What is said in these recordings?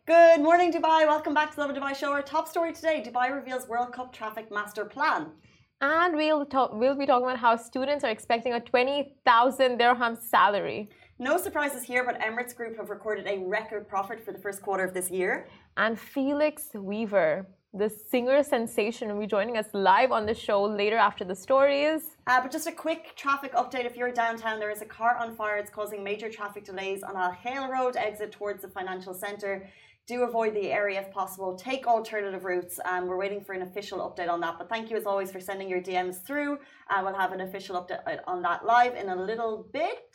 Good morning, Dubai. Welcome back to the Lovin Dubai show. Our top story today, Dubai reveals World Cup traffic master plan. And we'll be talking about how students are expecting a 20,000 dirham salary. No surprises here, but Emirates Group have recorded a record profit for the first quarter of this year. And Felix Weaver, the singer sensation, will be joining us live on the show later after the stories. But just a quick traffic update. If you're downtown, there is a car on fire. It's causing major traffic delays on Al Khail Road, exit towards the financial centre. Do avoid the area if possible. Take alternative routes. We're waiting for an official update on that. But thank you as always for sending your DMs through. We'll have an official update on that live in a little bit.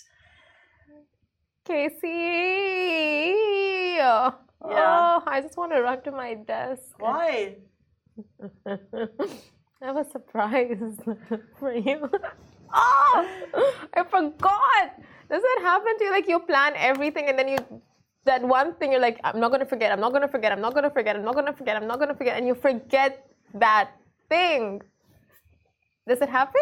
Casey! Yeah. Oh, I just want to run to my desk. Why? I have a surprise for you. Oh, I forgot. Does that happen to you? Like you plan everything and then that one thing you're like, I'm not going to forget, I'm not going to forget, I'm not going to forget, I'm not going to forget, I'm not going to forget. And you forget that thing. Does it happen?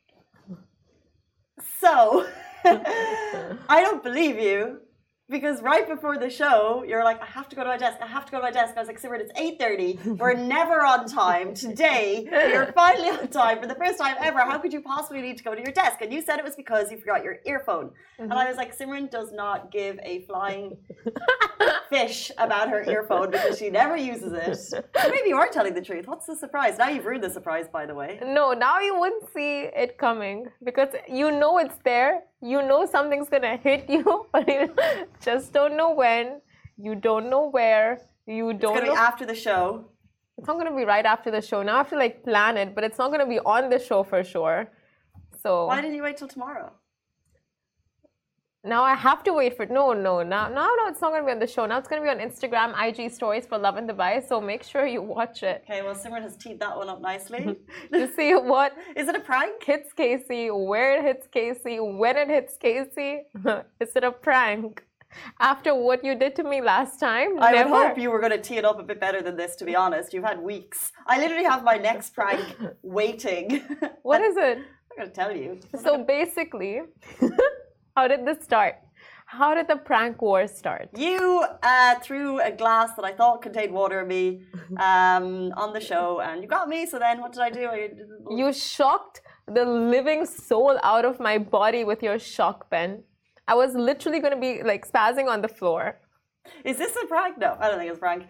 So, I don't believe you. Because right before the show, you're like, I have to go to my desk. I have to go to my desk. I was like, Simran, it's 8:30. We're never on time. Today, you're finally on time for the first time ever. How could you possibly need to go to your desk? And you said it was because you forgot your earphone. And I was like, Simran does not give a flying fish about her earphone because she never uses it. So maybe you are telling the truth. What's the surprise? Now you've ruined the surprise, by the way. No, now you wouldn't see it coming because you know it's there. You know something's gonna hit you, but you just don't know when. You don't know where. You don't. It's gonna be after the show. It's not gonna be right after the show. Now I have to like plan it, but it's not gonna be on the show for sure. So why didn't you wait till tomorrow? Now I have to wait for it. No, it's not gonna be on the show. Now it's gonna be on Instagram, IG stories for Lovin Dubai. So make sure you watch it. Okay, well Simran has teed that one up nicely. To see what is it a prank? Hits Casey, where it hits Casey, when it hits Casey. Is it a prank? After what you did to me last time? I would hope you were going to tee it up a bit better than this, to be honest. You've had weeks. I literally have my next prank waiting. What is it? I'm going to tell you. So basically, how did this start? How did the prank war start? You threw a glass that I thought contained water at me on the show, and you got me. So then what did I do? You shocked the living soul out of my body with your shock pen. I was literally going to be like spazzing on the floor. Is this a prank? No, I don't think it's a prank.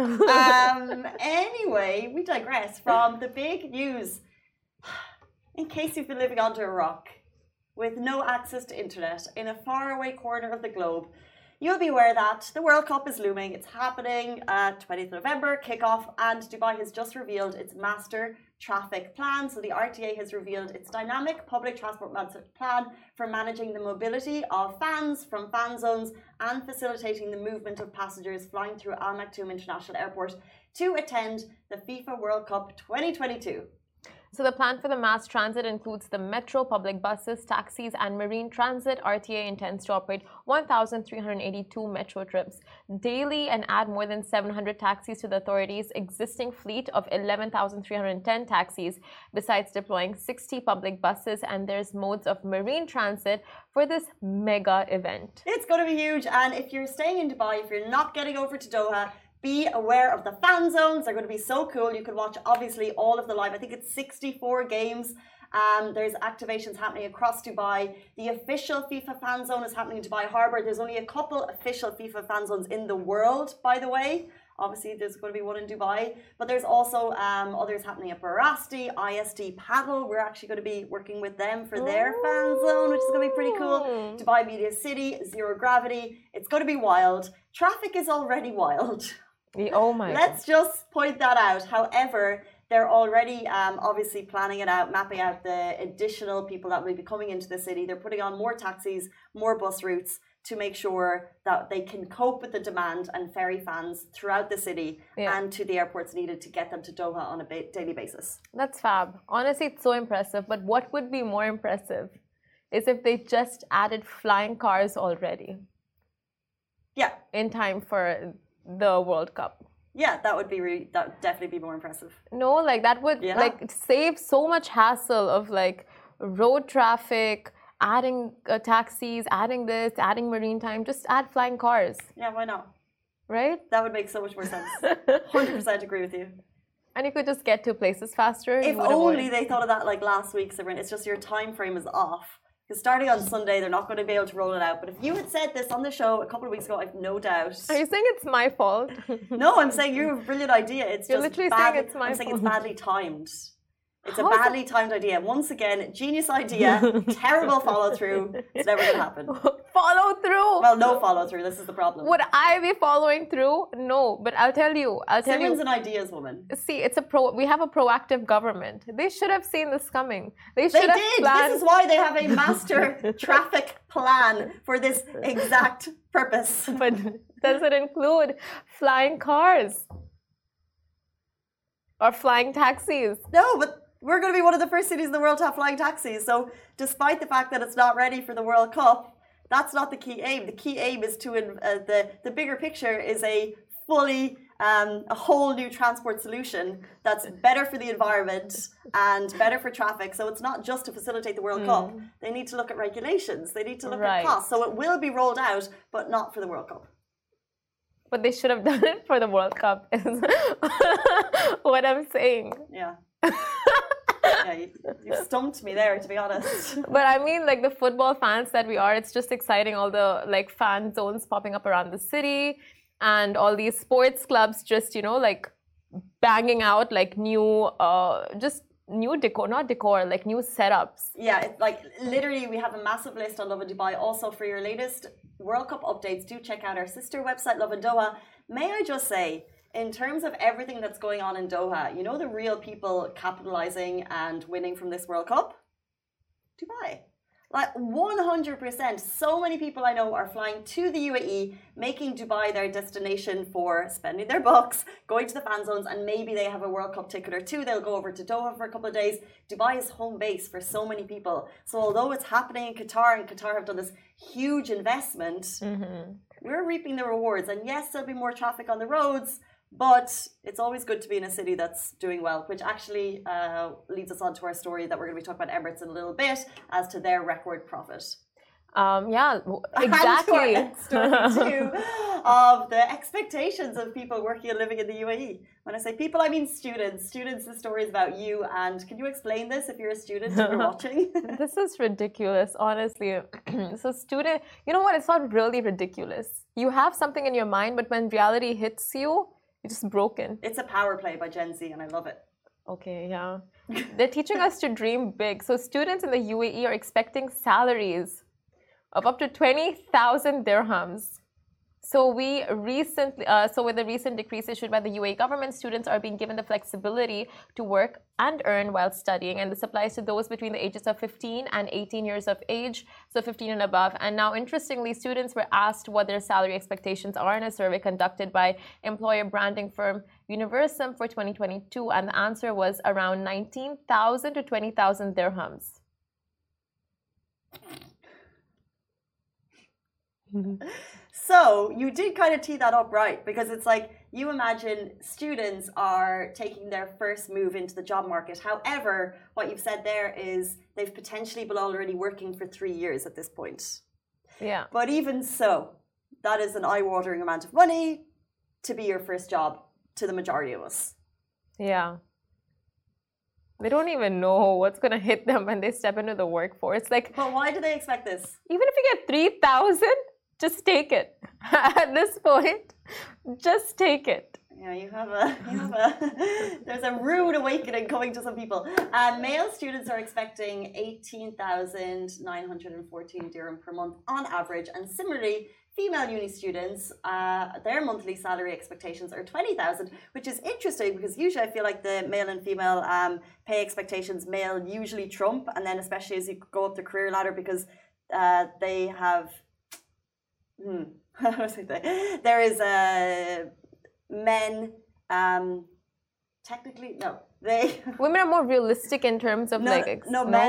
Anyway, we digress from the big news. In case you've been living under a rock with no access to internet in a faraway corner of the globe, you'll be aware that the World Cup is looming. It's happening 20th November, kickoff, and Dubai has just revealed its master traffic plan. So the RTA has revealed its dynamic public transport master plan for managing the mobility of fans from fan zones and facilitating the movement of passengers flying through Al Maktoum International Airport to attend the FIFA World Cup 2022. So the plan for the mass transit includes the metro, public buses, taxis, and marine transit. RTA intends to operate 1,382 metro trips daily and add more than 700 taxis to the authority's existing fleet of 11,310 taxis, besides deploying 60 public buses, and there's modes of marine transit for this mega event. It's going to be huge, and if you're staying in Dubai, if you're not getting over to Doha, be aware of the fan zones. They're going to be so cool. You can watch, obviously, all of the live. I think it's 64 games. There's activations happening across Dubai. The official FIFA fan zone is happening in Dubai Harbour. There's only a couple official FIFA fan zones in the world, by the way. Obviously, there's going to be one in Dubai. But there's also others happening at Barasti, ISD Paddle. We're actually going to be working with them for their fan zone, which is going to be pretty cool. Dubai Media City, Zero Gravity. It's going to be wild. Traffic is already wild. Oh my! Let's just point that out. However, they're already obviously planning it out, mapping out the additional people that will be coming into the city. They're putting on more taxis, more bus routes to make sure that they can cope with the demand and ferry fans throughout the city and to the airports needed to get them to Doha on a daily basis. That's fab. Honestly, it's so impressive. But what would be more impressive is if they just added flying cars already. Yeah. In time for the World Cup. Yeah, that would definitely be more impressive. No, like that would like save so much hassle of like road traffic, adding taxis, adding this, adding marine time. Just add flying cars. Yeah, why not? right? That would make so much more sense. 100% agree with you. And you could just get to places faster. If only they thought of that like last week, Simran. It's just your time frame is off. Because starting on Sunday, they're not going to be able to roll it out. But if you had said this on the show a couple of weeks ago, I've no doubt. Are you saying it's my fault? No, I'm saying you have a brilliant idea. It's You're just literally bad, saying it's my I'm saying it's fault. badly timed. It's a How is badly timed idea. Once again, genius idea, terrible follow through. It's never going to happen. Follow through. Well, no follow through. This is the problem. Would I be following through? No, but I'll tell you. Simran's an ideas woman. See, we have a proactive government. They should have seen this coming. They should have did. planned. This is why they have a master traffic plan for this exact purpose. But does it include flying cars or flying taxis? No, but we're going to be one of the first cities in the world to have flying taxis. So despite the fact that it's not ready for the World Cup, that's not the key aim. The key aim is to, the bigger picture is a fully, a whole new transport solution that's better for the environment and better for traffic. So it's not just to facilitate the World Cup. They need to look at regulations. They need to look at costs. So it will be rolled out, but not for the World Cup. But they should have done it for the World Cup, is what I'm saying. Yeah. Yeah, you stumped me there, to be honest. But I mean, like the football fans that we are, it's just exciting. All the like fan zones popping up around the city, and all these sports clubs just like banging out like new, just new decor, not decor, like new setups. Yeah, it's like literally we have a massive list on Lovin Dubai. Also, for your latest World Cup updates, do check out our sister website, Lovin Doha. May I just say, in terms of everything that's going on in Doha, the real people capitalizing and winning from this World Cup? Dubai. Like 100%. So many people I know are flying to the UAE, making Dubai their destination for spending their bucks, going to the fan zones, and maybe they have a World Cup ticket or two. They'll go over to Doha for a couple of days. Dubai is home base for so many people. So although it's happening in Qatar, and Qatar have done this huge investment, we're reaping the rewards. And yes, there'll be more traffic on the roads, but it's always good to be in a city that's doing well, which actually leads us on to our story that we're going to be talking about Emirates in a little bit as to their record profit. Yeah, exactly. And to our story too of the expectations of people working and living in the UAE. When I say people, I mean students. Students, the story is about you. And can you explain this if you're a student and you're watching? This is ridiculous, honestly. So student, you know what? It's not really ridiculous. You have something in your mind, but when reality hits you, it's just broken. It's a power play by Gen Z, and I love it. Okay, yeah. They're teaching us to dream big. So students in the UAE are expecting salaries of up to 20,000 dirhams. So with the recent decrees issued by the UAE government, students are being given the flexibility to work and earn while studying, and this applies to those between the ages of 15 and 18 years of age, so 15 and above. And now, interestingly, students were asked what their salary expectations are in a survey conducted by employer branding firm Universum for 2022, and the answer was around 19,000 to 20,000 dirhams. So you did kind of tee that up right, because it's like you imagine students are taking their first move into the job market. However, what you've said there is they've potentially been already working for 3 years at this point. Yeah. But even so, that is an eye-watering amount of money to be your first job to the majority of us. Yeah. They don't even know what's going to hit them when they step into the workforce. Like, but why do they expect this? Even if you get 3,000, just take it. At this point, just take it. Yeah, there's a rude awakening coming to some people. Male students are expecting 18,914 dirham per month on average, and similarly, female uni students, their monthly salary expectations are 20,000, which is interesting because usually I feel like the male and female pay expectations, male usually trump, and then especially as you go up the career ladder, because they have. There is men. Technically, no. Women are more realistic in terms of men.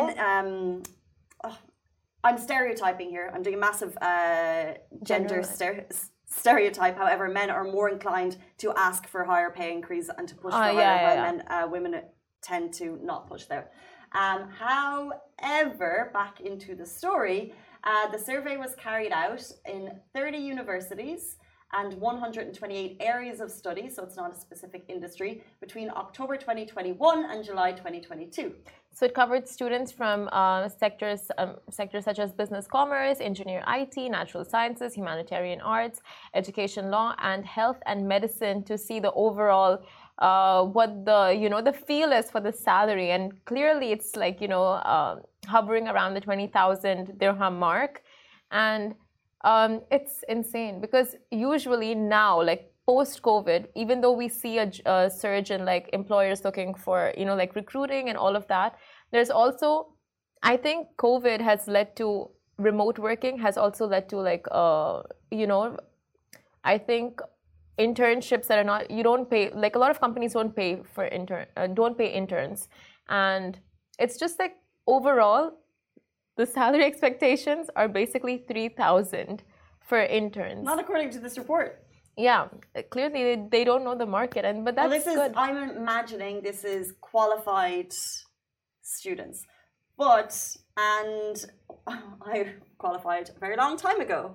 I'm stereotyping here. I'm doing a massive gender stereotype. However, men are more inclined to ask for higher pay increase and to push for higher, while women tend to not push there. However, back into the story, the survey was carried out in 30 universities, and 128 areas of study, so it's not a specific industry, between October 2021 and July 2022. So it covered students from sectors such as business, commerce, engineer, IT, natural sciences, humanitarian arts, education, law, and health and medicine to see the overall what the feel is for the salary. And clearly it's like hovering around the 20,000 dirham mark, and it's insane because usually now, like post-COVID, even though we see a surge in like employers looking for like recruiting and all of that, there's also, I think COVID has led to remote working, has also led to like I think internships that are not, you don't pay, like a lot of companies don't pay for don't pay interns, and it's just like overall the salary expectations are basically 3,000 for interns. Not according to this report. Yeah, clearly they don't know the market, but that's good. I'm imagining this is qualified students, and I qualified a very long time ago.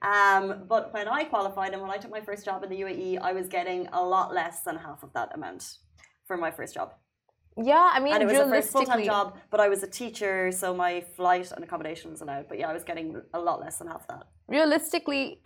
But when I qualified and when I took my first job in the UAE, I was getting a lot less than half of that amount for my first job. Yeah, I mean, and it was a first full-time job, but I was a teacher, so my flight and accommodation was allowed. But yeah, I was getting a lot less than half that. Realistically,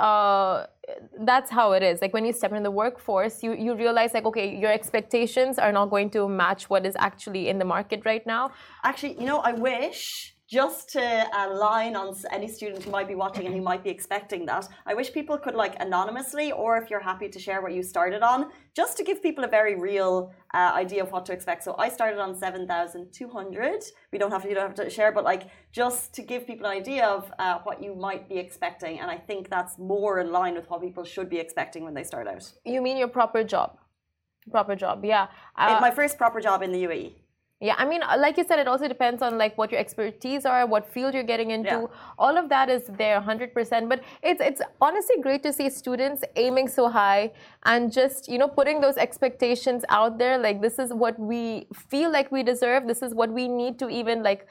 that's how it is. Like when you step in the workforce, you realize like, okay, your expectations are not going to match what is actually in the market right now. Actually, I wish, just to align on any student who might be watching and who might be expecting that, I wish people could like anonymously, or if you're happy to share what you started on, just to give people a very real idea of what to expect. So I started on 7,200. You don't have to share, but like just to give people an idea of what you might be expecting. And I think that's more in line with what people should be expecting when they start out. You mean your proper job? Proper job, yeah. My first proper job in the UAE. Yeah, I mean, like you said, it also depends on like what your expertise are, what field you're getting into. Yeah. All of that is there 100%. But it's honestly great to see students aiming so high and just, putting those expectations out there. Like, this is what we feel like we deserve. This is what we need to even like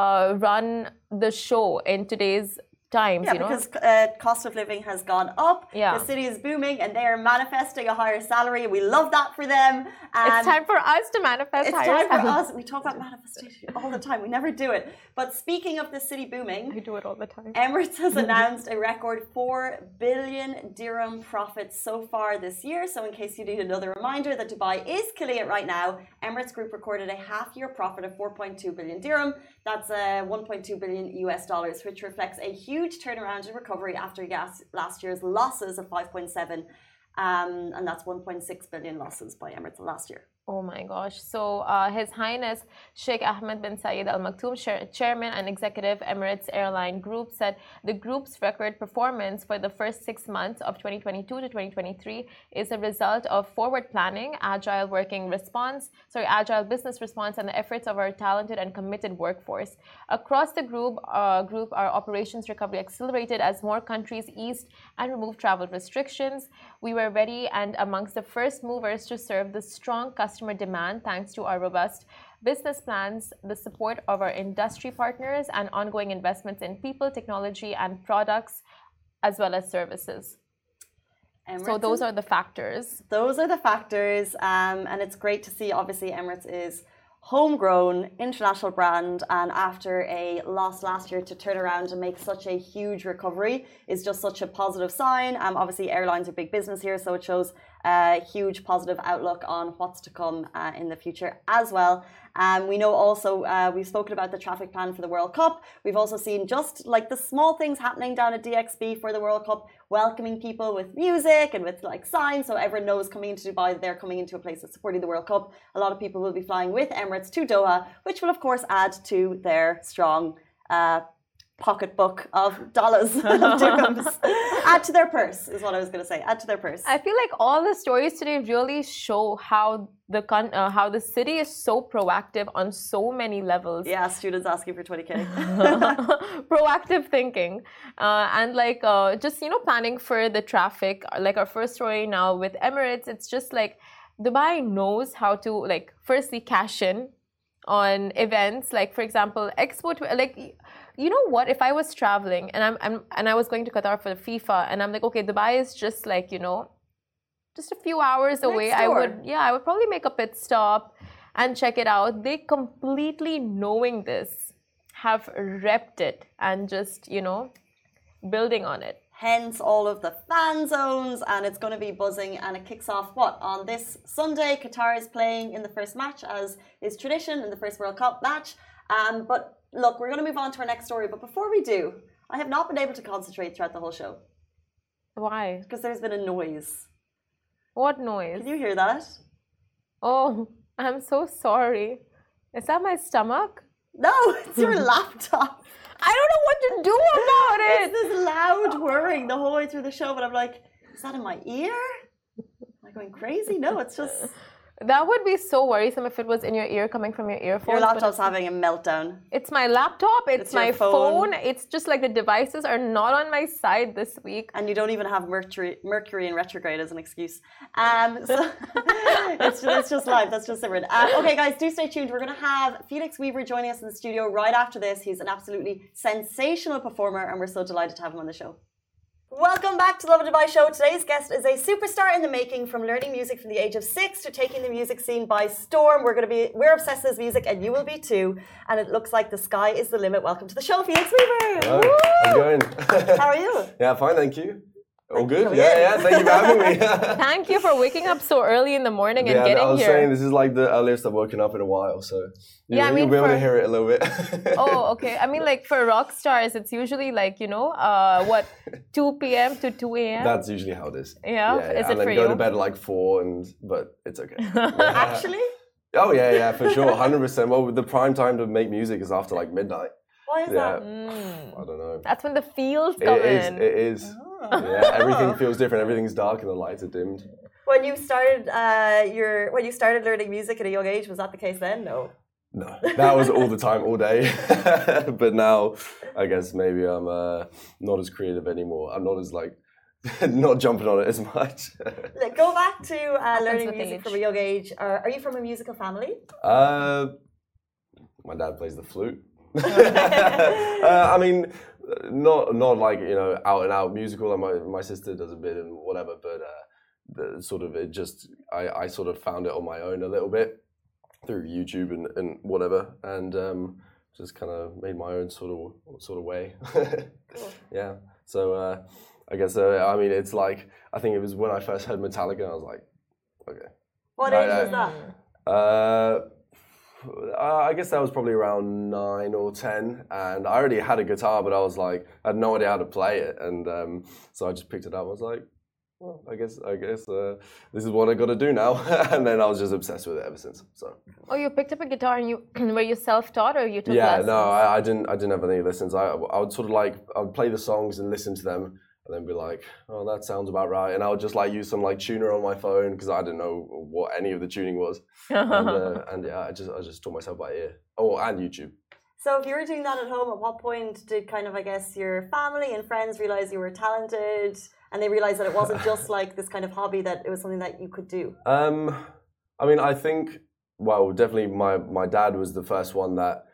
run the show in today's times, because cost of living has gone up. Yeah. The city is booming and they are manifesting a higher salary. We love that for them. It's time for us to manifest higher salary. It's time for us. We talk about manifestation all the time. We never do it. But speaking of the city booming, I do it all the time. Emirates has announced a record 4 billion dirham profits so far this year. So in case you need another reminder that Dubai is killing it right now, Emirates Group recorded a half-year profit of 4.2 billion dirham. That's $1.2 billion US, which reflects a huge turnaround and recovery after last year's losses of 5.7, and that's 1.6 billion losses by Emirates last year. Oh my gosh. So His Highness Sheikh Ahmed bin Zayed Al Maktoum, Chairman and Executive Emirates Airline Group, said the group's record performance for the first 6 months of 2022 to 2023 is a result of forward planning, agile business response, and the efforts of our talented and committed workforce. Across the group, our operations recovery accelerated as more countries eased and removed travel restrictions. We were ready and amongst the first movers to serve the strong customer demand thanks to our robust business plans, the support of our industry partners, and ongoing investments in people, technology, and products, as well as services. So those are the factors. Those are the factors, and it's great to see. Obviously, Emirates is homegrown international brand, and after a loss last year to turn around and make such a huge recovery is just such a positive sign. Obviously airlines are big business here, so it shows a huge positive outlook on what's to come in the future as well. We know also we've spoken about the traffic plan for the World Cup. We've also seen just like the small things happening down at DXB for the World Cup, welcoming people with music and with like signs, so everyone knows coming into Dubai that they're coming into a place that's supporting the World Cup. A lot of people will be flying with Emirates to Doha, which will of course add to their strong pocketbook of dollars, of dirhams. Add to their purse is what I was going to say. Add to their purse. I feel like all the stories today really show how the city is so proactive on so many levels. Yeah, students asking for 20K. Proactive thinking, and like just planning for the traffic. Like our first story now with Emirates, it's just like Dubai knows how to like firstly cash in on events, like for example Expo, like you know what? If I was traveling and I was going to Qatar for the FIFA, and I'm like, okay, Dubai is just like, just a few hours away. Next door. I would probably make a pit stop and check it out. They completely knowing this have repped it and just, building on it. Hence all of the fan zones, and it's going to be buzzing, and it kicks off on this Sunday. Qatar is playing in the first match, as is tradition in the first World Cup match. But look, we're going to move on to our next story. But before we do, I have not been able to concentrate throughout the whole show. Why? Because there's been a noise. What noise? Can you hear that? Oh, I'm so sorry. Is that my stomach? No, it's your laptop. I don't know what to do about it. It's this loud whirring the whole way through the show, but I'm like, is that in my ear? Am I going crazy? No, it's just... That would be so worrisome if it was in your ear, coming from your earphones. Your laptop's having a meltdown. It's my laptop, it's my phone. It's just like the devices are not on my side this week. And you don't even have Mercury in retrograde as an excuse. So it's just live, that's just different. Okay guys, do stay tuned. We're going to have Felix Weaver joining us in the studio right after this. He's an absolutely sensational performer, and we're so delighted to have him on the show. Welcome back to the Lovin Dubai show. Today's guest is a superstar in the making, from learning music from the age of 6 to taking the music scene by storm. We're obsessed with his music, and you will be too. And it looks like the sky is the limit. Welcome to the show, Felix Weaver. Hello. How's it going? How are you? Yeah, fine, thank you. All good? Yeah, thank you for having me. Thank you for waking up so early in the morning and getting here. I was saying this is like the earliest I've woken up in a while, so you'll be able to hear it a little bit. Oh, okay. I mean, like for rock stars, it's usually like, 2 p.m. to 2 a.m.? That's usually how it is. Yeah? Is it and then for you? go to bed at like 4, but it's okay. Actually? Oh, yeah, for sure, 100%. Well, the prime time to make music is after like midnight. Why is that? I don't know. That's when the feels come in. It is. Oh. Yeah, everything feels different. Everything's dark and the lights are dimmed. When you started learning music at a young age, was that the case then? No. No, that was all the time, all day. But now, I guess maybe I'm not as creative anymore. I'm not as not jumping on it as much. Go back to learning music from a young age. Are you from a musical family? My dad plays the flute. I mean, not like out and out musical. And my sister does a bit and whatever, but I sort of found it on my own a little bit through YouTube and whatever, and just kind of made my own sort of way. Cool. Yeah. So I guess I mean it's like, I think it was when I first heard Metallica, I was like, okay. What age was that? I guess that was probably around 9 or 10, and I already had a guitar, but I was like, I had no idea how to play it, and so I just picked it up. I was like, well, I guess this is what I got to do now, and then I was just obsessed with it ever since. So. Oh, you picked up a guitar, and were you self-taught, or you took lessons? Yeah, no, I didn't have any lessons. I would sort of I would play the songs and listen to them, and then be like, oh, that sounds about right. And I would just use some tuner on my phone, because I didn't know what any of the tuning was. And yeah, I just taught myself by ear. Oh, and YouTube. So if you were doing that at home, at what point did your family and friends realize you were talented, and they realized that it wasn't just this kind of hobby, that it was something that you could do? I mean, I think, well, definitely my dad was the first one that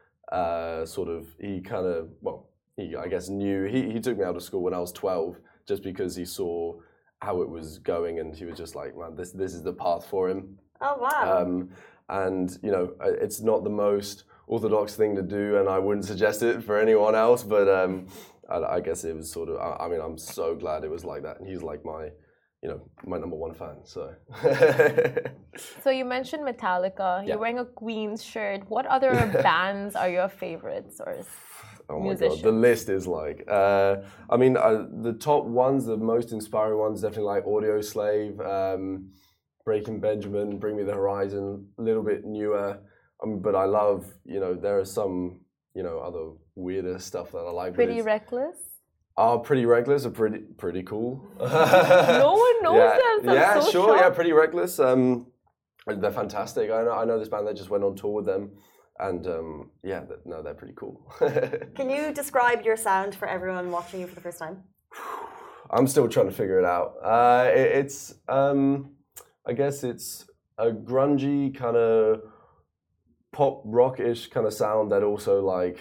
he I guess knew. He took me out of school when I was 12, just because he saw how it was going, and he was just like, man, this is the path for him. Oh wow. And it's not the most orthodox thing to do, and I wouldn't suggest it for anyone else, but I guess it was sort of, I mean, I'm so glad it was like that, and he's like my number one fan, so. So you mentioned Metallica. You're wearing a Queen's shirt. What other bands are your favorites, or oh my God, the list is I mean, the top ones, the most inspiring ones, definitely Audio Slave, Breaking Benjamin, Bring Me the Horizon, a little bit newer. But I love, there are some, other weirder stuff that I like. Pretty Reckless? Pretty Reckless are pretty cool. No one knows them. Yeah, so sure. shocked. Yeah, Pretty Reckless. They're fantastic. I know this band that just went on tour with them. And they're pretty cool. Can you describe your sound for everyone watching you for the first time? I'm still trying to figure it out. It's I guess it's a grungy kind of pop rock-ish kind of sound that also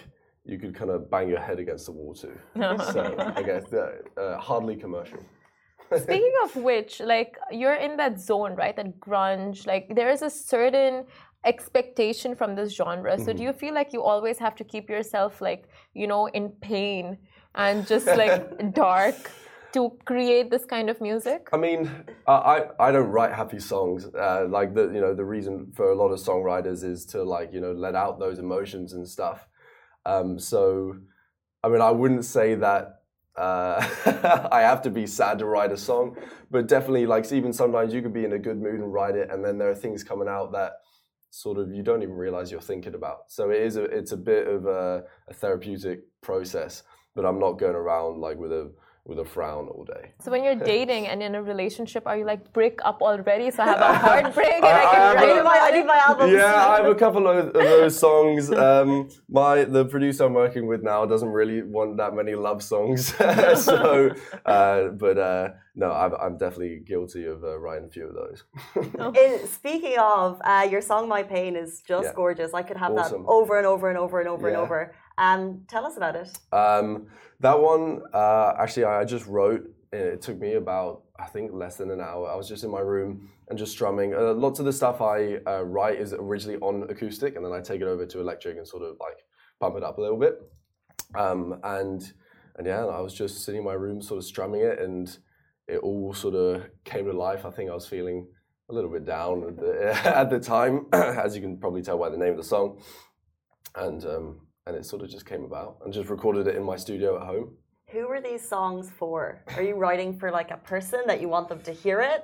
you could kind of bang your head against the wall too. So I guess hardly commercial. Speaking of which, like you're in that zone, right? That grunge, like there is a certain expectation from this genre. So do you feel like you always have to keep yourself like, you know, in pain and just like dark to create this kind of music? I mean, I don't write happy songs. Like the reason for a lot of songwriters is to like, you know, let out those emotions and stuff. So, I mean, I wouldn't say that I have to be sad to write a song, but definitely like even sometimes you could be in a good mood and write it, and then there are things coming out that sort of you don't even realize you're thinking about. So it's a bit of a therapeutic process, but I'm not going around like with a frown all day. So when you're dating and in a relationship, are you like break up already? So I have a heartbreak and I need my albums. Yeah, I have a couple of those songs. The producer I'm working with now doesn't really want that many love songs. So, no, I'm definitely guilty of writing a few of those. Speaking of, your song "My Pain" is just gorgeous. I could have awesome. that over and over and over and over and over. Tell us about it. That one, actually, I just wrote. It took me about, I think, less than an hour. I was just in my room and just strumming. Lots of the stuff I write is originally on acoustic, and then I take it over to electric and sort of like pump it up a little bit. And yeah, I was just sitting in my room, sort of strumming it, and it all sort of came to life. I think I was feeling a little bit down at the time, as you can probably tell by the name of the song. And it sort of just came about, and just recorded it in my studio at home. Who are these songs for? Are you writing for like a person that you want them to hear it?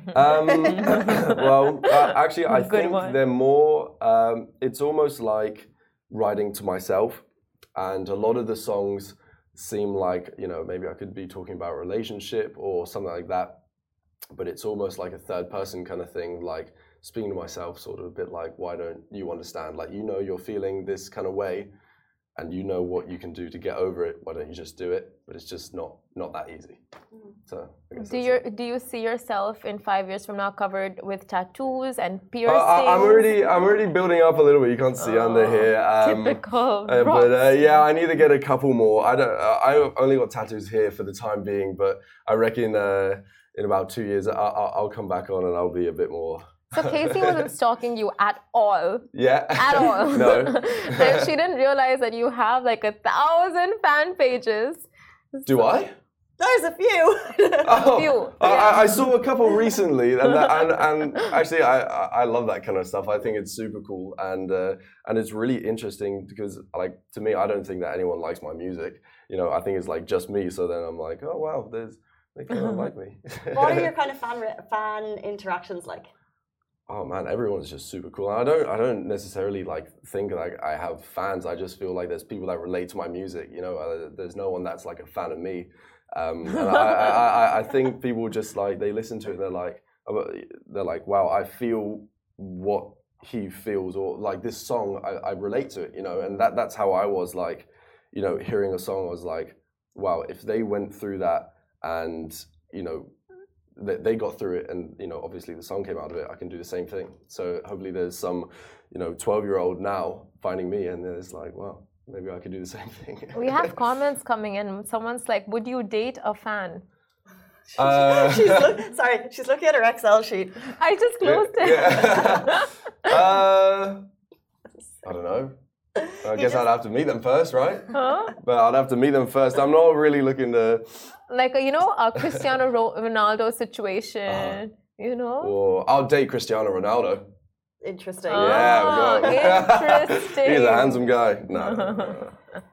Well, actually, I think they're more, it's almost like writing to myself. And a lot of the songs seem like, you know, maybe I could be talking about a relationship or something like that. But it's almost like a third person kind of thing, like speaking to myself, sort of a bit like, why don't you understand? Like, you know, you're feeling this kind of way, and you know what you can do to get over it. Why don't you just do it? But it's just not that easy. So I guess do you see yourself in 5 years from now covered with tattoos and piercings? I'm already building up a little bit. You can't see under here. Typical. But yeah, I need to get a couple more. I only got tattoos here for the time being, but I reckon in about 2 years I'll come back on and I'll be a bit more. So Casey wasn't stalking you at all. Yeah. At all. No. Like, she didn't realize that you have like 1,000 fan pages. Do I? There's a few. A few. I saw a couple recently, and actually I love that kind of stuff. I think it's super cool, and it's really interesting because, like, to me, I don't think that anyone likes my music. You know, I think it's like just me. So then I'm like, oh wow, they kind of like me. What are your kind of fan interactions like? Oh man, everyone's just super cool. And I don't necessarily like think like I have fans. I just feel like there's people that relate to my music. You know, there's no one that's like a fan of me. And I think people just like, they listen to it and they're like, wow, I feel what he feels, or like this song, I relate to it, you know. And that's how I was, like, you know, hearing a song, I was like, wow, if they went through that and, you know, they got through it, and, you know, obviously the song came out of it, I can do the same thing. So hopefully there's some, you know, 12-year-old now finding me, and it's like, wow, maybe I could do the same thing. We have comments coming in. Someone's like, would you date a fan? She's looking at her Excel sheet. I just closed it. Yeah. I don't know. I guess I'd have to meet them first, right? Huh? But I'd have to meet them first. I'm not really looking to... Like, you know, a Cristiano Ronaldo situation, you know? Or I'll date Cristiano Ronaldo. Interesting. Yeah, interesting. He's a handsome guy. No.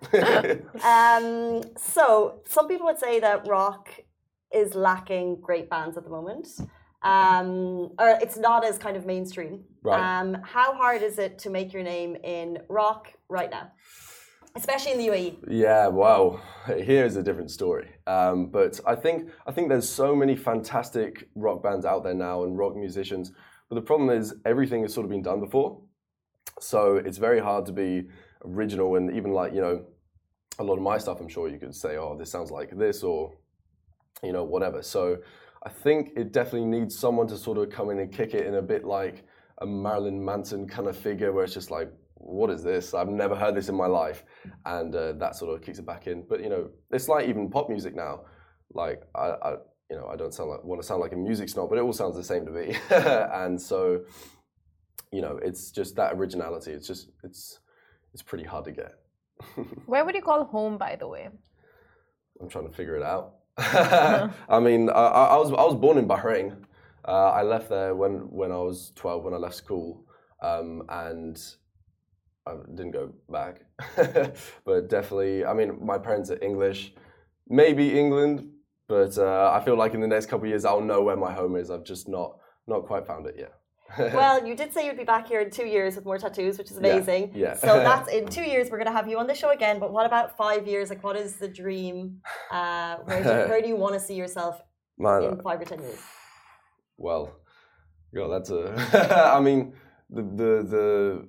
So, some people would say that rock is lacking great bands at the moment. Or it's not as kind of mainstream. Right. How hard is it to make your name in rock right now? Especially in the UAE. Yeah, wow. Here's a different story. But I think there's so many fantastic rock bands out there now and rock musicians. But the problem is everything has sort of been done before. So it's very hard to be original, and even like, you know, a lot of my stuff, I'm sure you could say, oh, this sounds like this, or, you know, whatever. So I think it definitely needs someone to sort of come in and kick it in a bit like a Marilyn Manson kind of figure, where it's just like, what is this? I've never heard this in my life. And that sort of kicks it back in. But, you know, it's like even pop music now. Like, I don't want to sound like a music snob, but it all sounds the same to me. And so, you know, it's just that originality. It's pretty hard to get. Where would you call home, by the way? I'm trying to figure it out. I mean, I was born in Bahrain. I left there when I was 12, when I left school, and I didn't go back. But definitely, I mean, my parents are English, maybe England, but I feel like in the next couple of years I'll know where my home is. I've just not quite found it yet. Well, you did say you'd be back here in 2 years with more tattoos, which is amazing. Yeah. So that's in 2 years. We're going to have you on the show again. But what about 5 years? Like, what is the dream? Where do you want to see yourself in 5 or 10 years? Well, God, that's a. I mean, the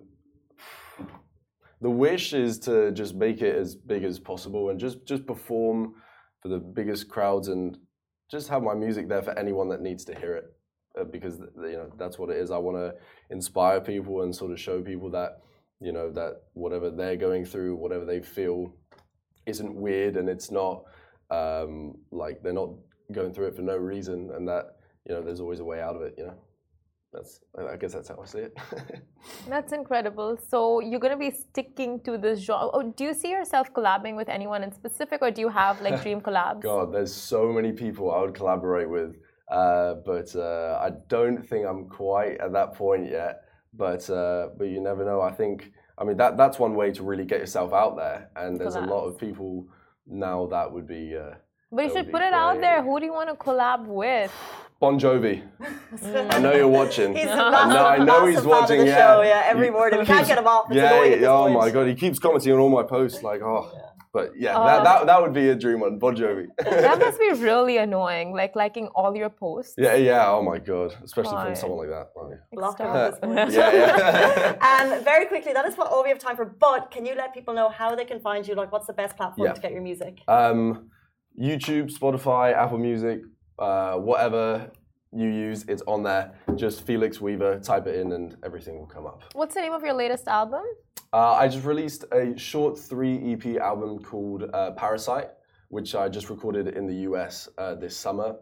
wish is to just make it as big as possible and just perform for the biggest crowds and just have my music there for anyone that needs to hear it. Because, you know, that's what it is. I want to inspire people and sort of show people that, you know, that whatever they're going through, whatever they feel isn't weird, and it's not like they're not going through it for no reason, and that, you know, there's always a way out of it, you know. I guess that's how I see it. That's incredible. So you're going to be sticking to this genre. Oh, do you see yourself collabing with anyone in specific, or do you have like dream collabs? God, there's so many people I would collaborate with. But I don't think I'm quite at that point yet. But you never know. I mean, that's one way to really get yourself out there. And there's a lot of people now that would be. But you should put it out there. Who do you want to collab with? Bon Jovi. I know you're watching. He's I know he's watching. Yeah. Show, yeah, every morning. We can't get him off. It's annoying at this point. My God, he keeps commenting on all my posts. Like, But yeah, that would be a dream one, Bon Jovi. That must be really annoying, like liking all your posts. Yeah. Oh my God, especially from someone like that. Block him at this point. Yeah. Very quickly, that is all we have time for. But can you let people know how they can find you? Like, what's the best platform to get your music? YouTube, Spotify, Apple Music, whatever you use, it's on there. Just Felix Weaver, type it in, and everything will come up. What's the name of your latest album? I just released a short 3 EP album called Parasite, which I just recorded in the US this summer.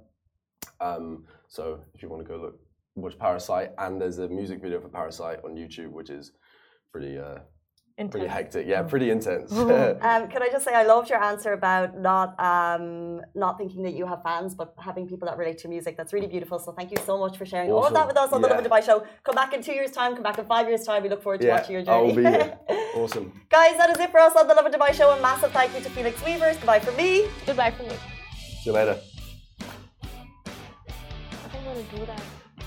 So if you want to go watch Parasite, and there's a music video for Parasite on YouTube, which is pretty hectic. Yeah, pretty intense. Can I just say I loved your answer about not thinking that you have fans, but having people that relate to music. That's really beautiful. So thank you so much for sharing all of that with us on the Lovin Dubai show. Come back in 2 years' time. Come back in 5 years' time. We look forward to watching your journey. I'll be here. Awesome. Guys, that is it for us on the Lovin Dubai show. A massive thank you to Felix Weavers. Goodbye from me. Goodbye from me. See you later. I think I'm going to do that.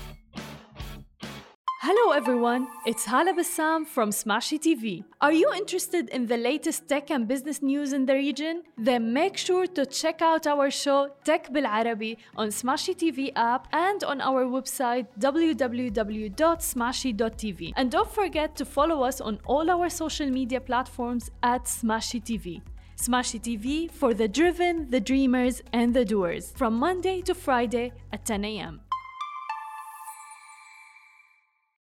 Hello everyone, it's Hala Bassam from Smashy TV. Are you interested in the latest tech and business news in the region? Then make sure to check out our show Tech Bil Arabi on Smashy TV app and on our website www.smashy.tv. And don't forget to follow us on all our social media platforms at Smashy TV. Smashy TV for the driven, the dreamers, and the doers from Monday to Friday at 10 a.m.